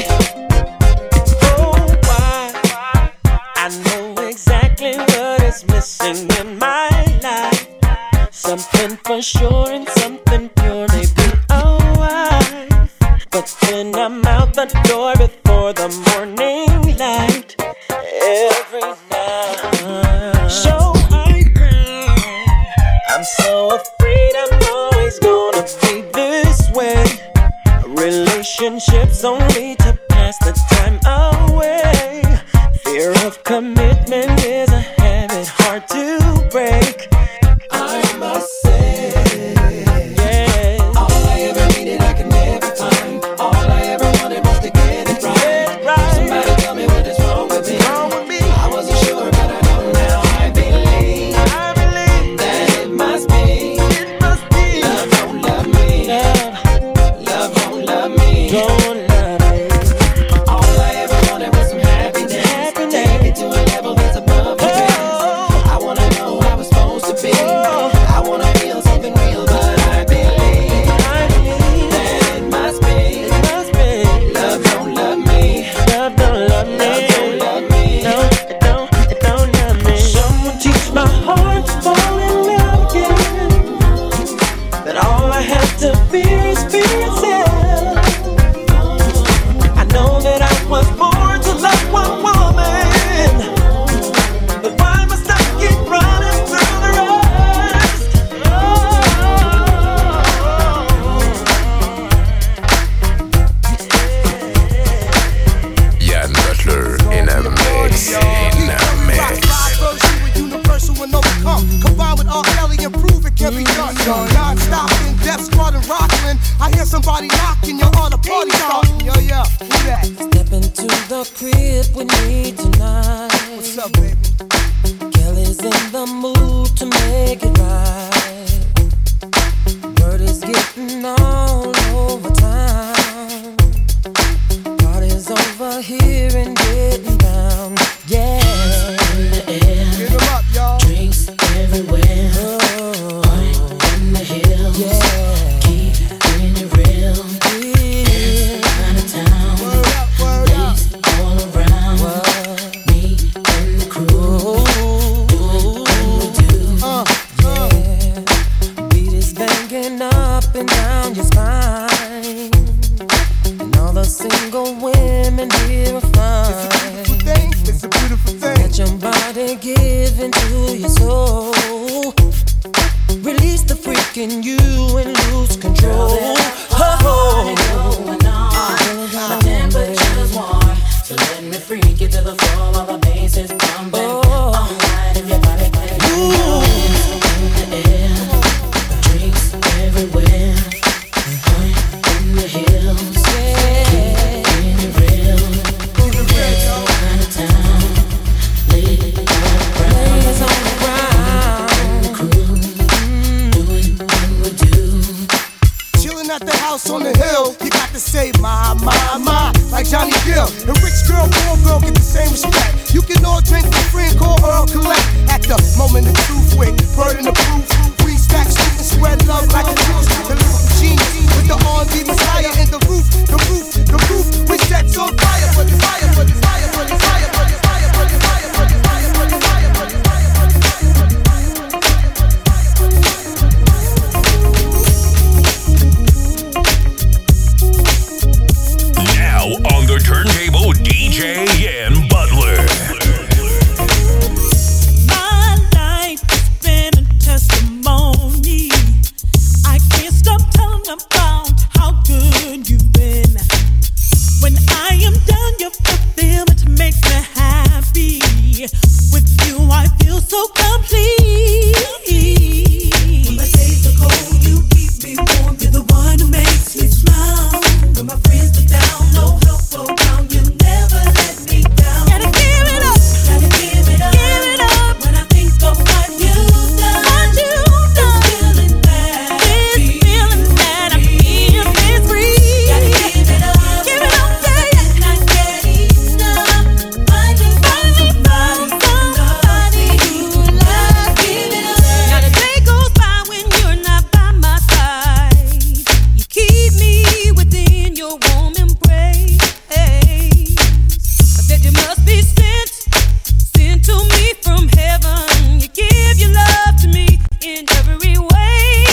Oh, why? I know exactly what is missing in my life. Something for sure and something pure, maybe a wife. But then I'm out the door before the morning light. Every night, so I cry. I'm so afraid I'm always gonna be this way. Relationships only to pass the time away. Fear of commitment is a habit hard to break. I must say, yeah. All I ever needed, I can never find. All I ever wanted was to get it right. Somebody tell me what is wrong with me. I wasn't sure, but I know now. I believe that it must be love don't love me. Love don't love me. Don't love me. All I ever wanted was some happiness. Take it to a level that's above the rest. I wanna know how it's supposed to be. I wanna feel something real, but I believe that it must be love don't love me. Love don't love me. Love don't love me. No, it don't, it don't love me. Someone teach my heart to fall in love again. That all I have to fear is fear itself. I know that I was born to love one woman, but why must I keep running through the rest? Yann Butler in a mix, in a mix. Universal and overcome. Combined with R. Kelly and prove it can be done. Non-stop in depth, squad and rockin'. I hear somebody knocking, you're on a party starting. Yo, yo, who that? Step into the crib with me tonight. What's up, baby? Kelly's in the mood to make it right. Word is getting all over town. are here and getting down. Yeah. In the air. Get them up, y'all. Drinks everywhere. Oh. In the hills. Yeah. Keeping it real. Yeah. Out of town. Word up, word Ladies up. all around. Word. Me and the crew. Doing what we do. Uh, yeah. Beat is banging up and down your spine. And all the single women here are fine. It's a beautiful thing. It's a beautiful thing. Let your body give into your soul. Release the freak in you and lose control. Oh, my temperature's warm, so let me freak you to the floor while the bass is pumping. Oh. All night if your body plays. In the air, drinks everywhere. In the hills, keeping it real. Out of town, ladies on the ground. The crew, doing what we do. Chilling at the house on the hill, you got to say my, my, my, like Johnny Gill. A rich girl, poor girl get the same respect. You can all drink for free and call Earl Collect. At the moment of truth with burden of proof. Three stacks, shoot and spread love like a juice. The lyrical genius with the R and B messiah in the roof, the roof, the roof. We set on fire for the fire, for the fire, for the fire, for the fire, for the fire, for the fire, for the fire, for the fire, for the fire. Now on the turntable, D J Yan Butler. My life has been a testimony. I can't stop telling about how good you've been. When I am done, your fulfillment makes me happy. With you, I feel so complete. When my days are cold, you keep me warm. You're the one who makes me smile. When my friends are down, no help around, you never let me down. Gotta give it up, gotta give it up, give it up. When I think of what you've done, what you've done, this feeling bad, this feeling bad, I feel this free. Gotta give it up, give it up, yeah. And I can't enough. Finding somebody, somebody who loves, give it up. Not a day goes by when you're not by my side. You keep me within your warm embrace. I said you must be sent, sent to me from heaven. You give your love to me in every way.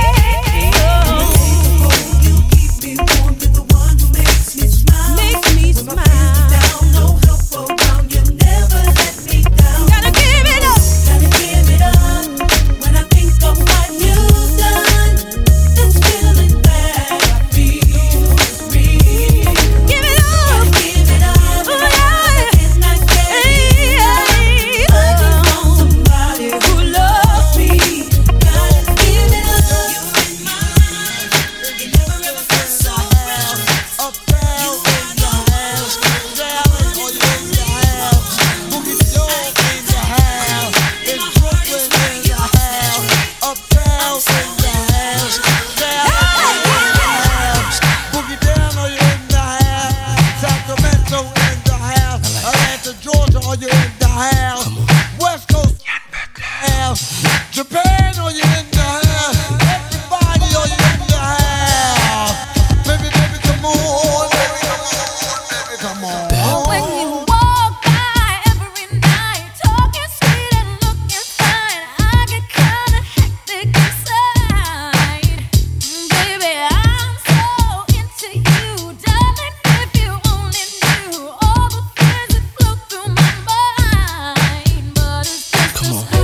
Oh, you keep me warm. You're the one who makes me smile. Makes me smile. When my friends are down, no help around, you never let me down. Gotta give it up, gotta give it up. When I think of what you've done, this feeling bad, I feel is real. Give it up, gotta give it up. Oh yeah, and I can't hey, I just want somebody who loves me. Gotta give it up. You're in my life. You never ever felt so real. Up down, You are the house, down, or you in the house. Boogie Dog in the house. In Brooklyn in the house. Up down in the house, down in the house. Boogie down, or you in the house. Sacramento in the house. Atlanta, Georgia, or you in the house. West Coast house. Japan, or you in the house. Everybody, or you in the house. Baby, baby, come on. Baby, come on. Baby, come on. When you walk by every night, talking sweet and looking fine, I get kinda hectic inside. Baby, I'm so into you, darling. If you only knew all the things that flow through my mind, but it's just Come on.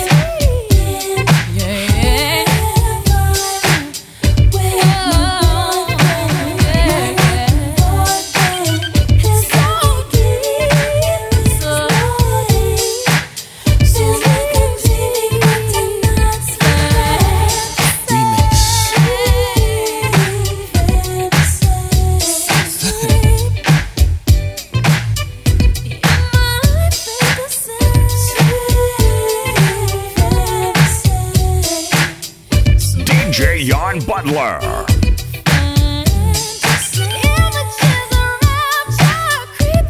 yeah. D J Yan Butler. Images around you,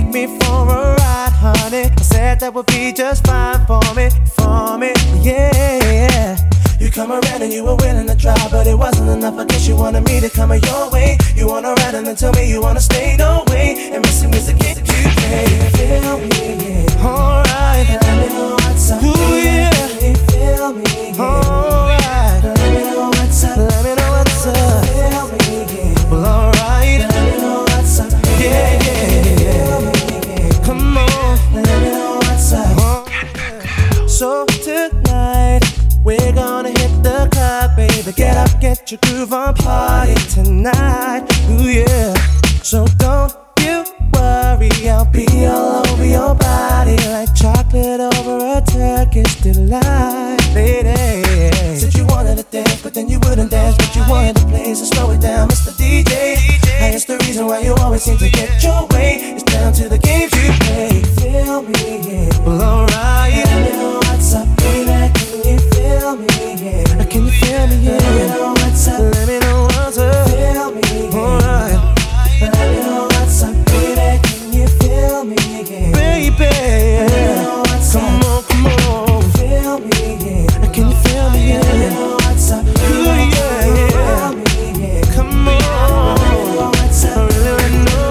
take me for a ride, honey. I said that would be just fine for me, for me, yeah. You come around and you were willing to try, but it wasn't enough. I guess you wanted me to come your way. You wanna ride and then tell me you wanna stay, no way. And missing music get you play. Feel me, yeah. Alright, let me know what's up. Ooh, yeah. Can you feel me, yeah. Alright, let me know what's up. Let me know what's up. Feel me, yeah. Well, alright, let me know what's up. Yeah, yeah, yeah. Come on, let me know what's up. So tonight we're gonna hit the club, baby. Get up, get your groove on, party tonight. Ooh yeah. So don't you worry, I'll be all over your body like chocolate over a Turkish delight, lady. Said you wanted to dance, but then you wouldn't dance. But you wanted to play, so slow it down, Mister D J. And it's the reason why you always seem to get your way. It's down to the games you play. Feel me, yeah. Well, alright. Let me know what's up, baby. Can you feel me, yeah? Can you feel me, yeah? Let me know what's up. Let me know what's up. Feel me, yeah. Alright. Let me know what's up, baby. Can you feel me, yeah? Baby, let me know what's up. Come on, come on. Feel me, yeah. Can you feel me, yeah? Let me know what's up. Ooh, yeah, yeah. Feel me, yeah. Come on. Let me know what's up. I really know.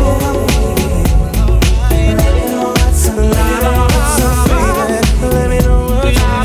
Let me know what's up. Let me know what's up, baby. Let me know what's up.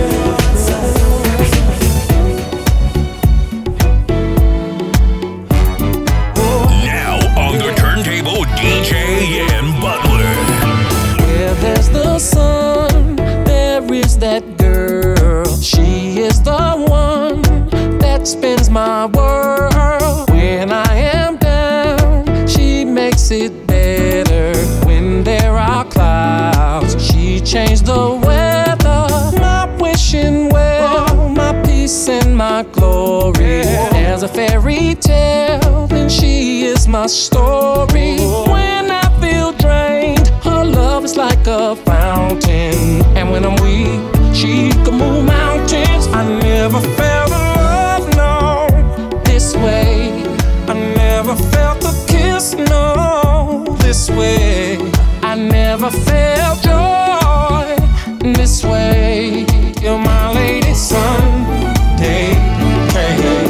Now on the turntable, D J Ian Butler. Where there's the sun, there is that girl. She is the one that spins my world. When I am down, she makes it better. When there are clouds, she changed the weather. My wishing well, my peace and my glory. There's a fairy tale, and she is my story. When I feel drained, her love is like a fountain. And when I'm weak, she can move mountains. I never felt a love, no, this way. I never felt a kiss, no, this way. I never felt joy this way. You're my lady Sunday. Hey.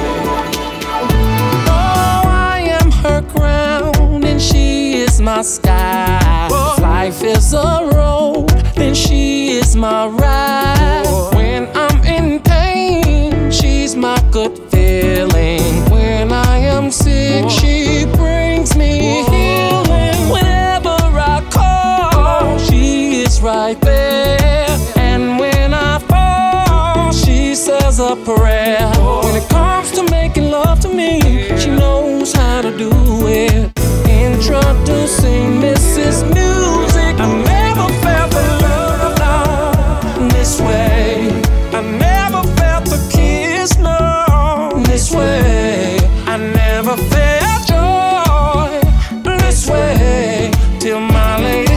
Oh, I am her crown and she is my sky. If life is a road, then she is my ride. When I'm in pain, she's my good feeling. When I am sick, she brings me healing. Whenever I call, she is right there. And when I fall, she says a prayer. When it comes to making love to me, she knows how to do it. Introducing Missus Music. I never felt the love, no, this way. I never felt the kiss, no, this way. I never felt joy this way. Till my lady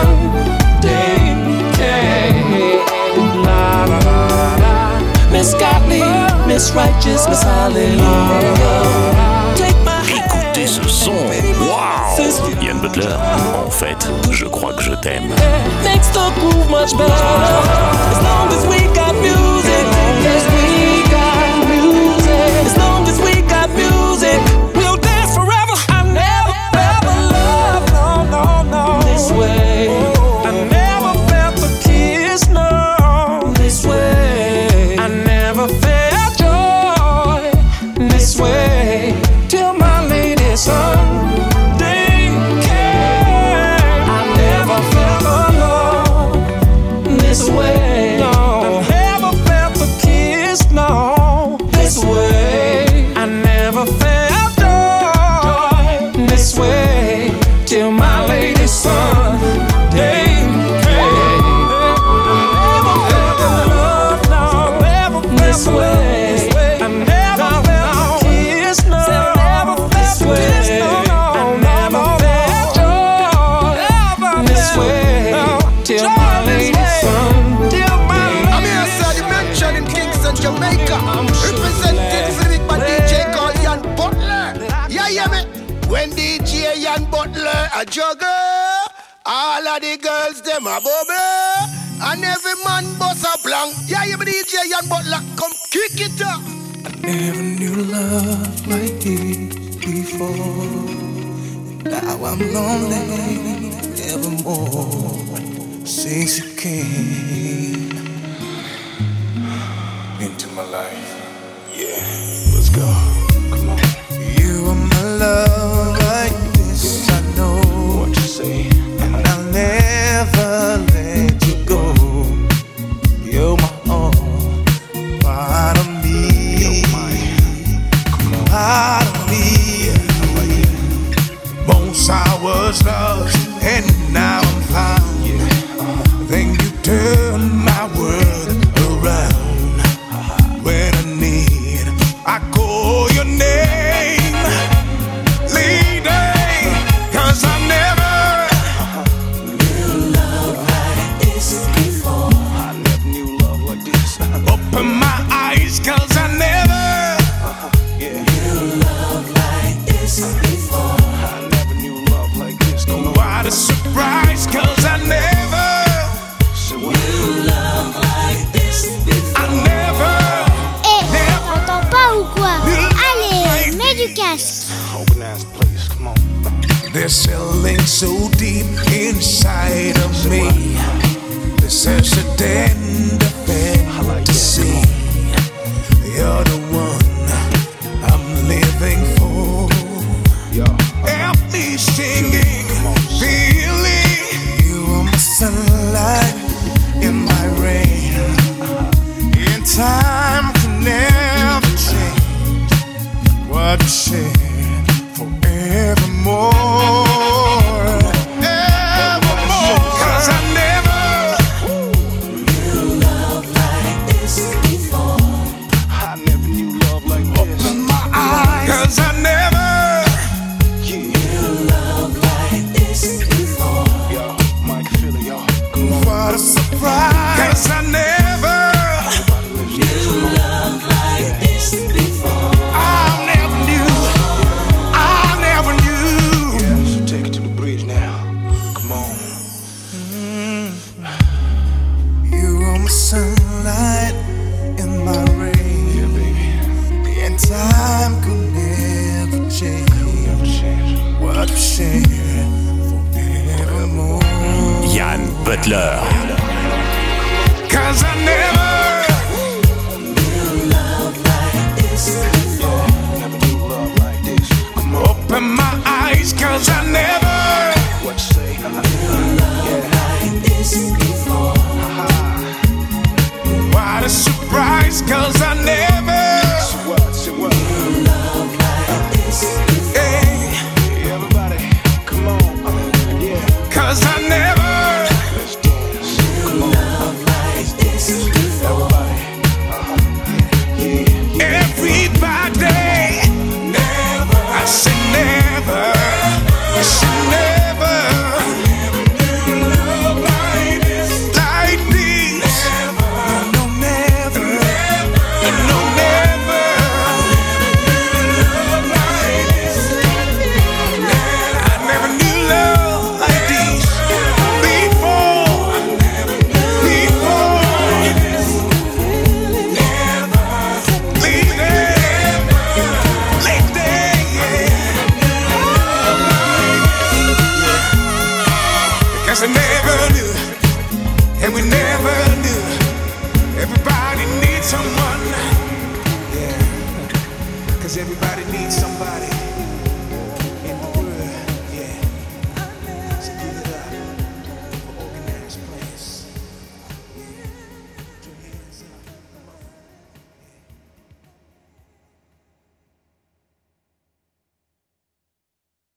Sunday came. La la la la. Miss Gottlieb, Miss Righteous, Miss Hallelujah. Take my hand. Écoutez ce son, waouh! Ian Butler, en fait, je crois que je t'aime. Makes the groove much better. As long as we got music, as we got music, as long as we got music, we'll dance forever. I never ever loved, no, no, no, this way. I never felt the kiss, no, this way. I never felt joy this way. Till my lady Sunday came. I never felt alone this way. No, I never felt the kiss, no, this way. I never felt joy this way. Till my lady Sunday came. I never felt love, no, never felt this way. I never felt the kiss, no, this way. I never felt joy this way. Till my lady Sunday. I'm here, sir, you mentioned in Kingston, Jamaica. Representing for the big bad D J called Ian Butler. Yeah, yeah, me. When D J Ian Butler a jugger. of the girls, them a bubble. And every man bust a blank. Yeah, you be D J Yan Butler, come kick it up. I never knew love like this before. Now I'm lonely evermore since you came into my life. Yeah, let's go. Come on. You are my love like this, I know what you say, and I'll never let you go. You're my own part of me. You're mine. Come on. Part of me. Once I was lost, and now I'm found. Yeah. Uh-huh. Then you turn my world around. Uh-huh. When I need, I call your name, lady, 'cause I never uh-huh. knew love like this before. I never knew love like this. Open my eyes, 'cause I never uh-huh. yeah. knew love like this before. What a surprise, 'cause I never knew love like this before. I never. Eh, t'entends pas ou quoi? Allez, mets du casque. Open ass, please, come on. There's something so deep inside of me. There's such a tender fantasy. You're the one I'm living for. Help me singing, feeling. You are my sunlight in my rain. In time can never change what we share forevermore. Evermore. 'Cause I never knew love like this before. I never knew love like this. Open my eyes. 'Cause I never. What a surprise, 'cause I never knew love like this before. I never knew, I never knew. Yeah, so take it to the bridge now. Come on. Mm. You are my sunlight in my rain. Yeah, baby. And time could never change. Never change. What we share forevermore. Yan Butler. 'Cause I never knew love like this before. Never knew love like this. Come on. Open my eyes, 'cause I never what you say? Knew love like this before. What a surprise, 'cause I never.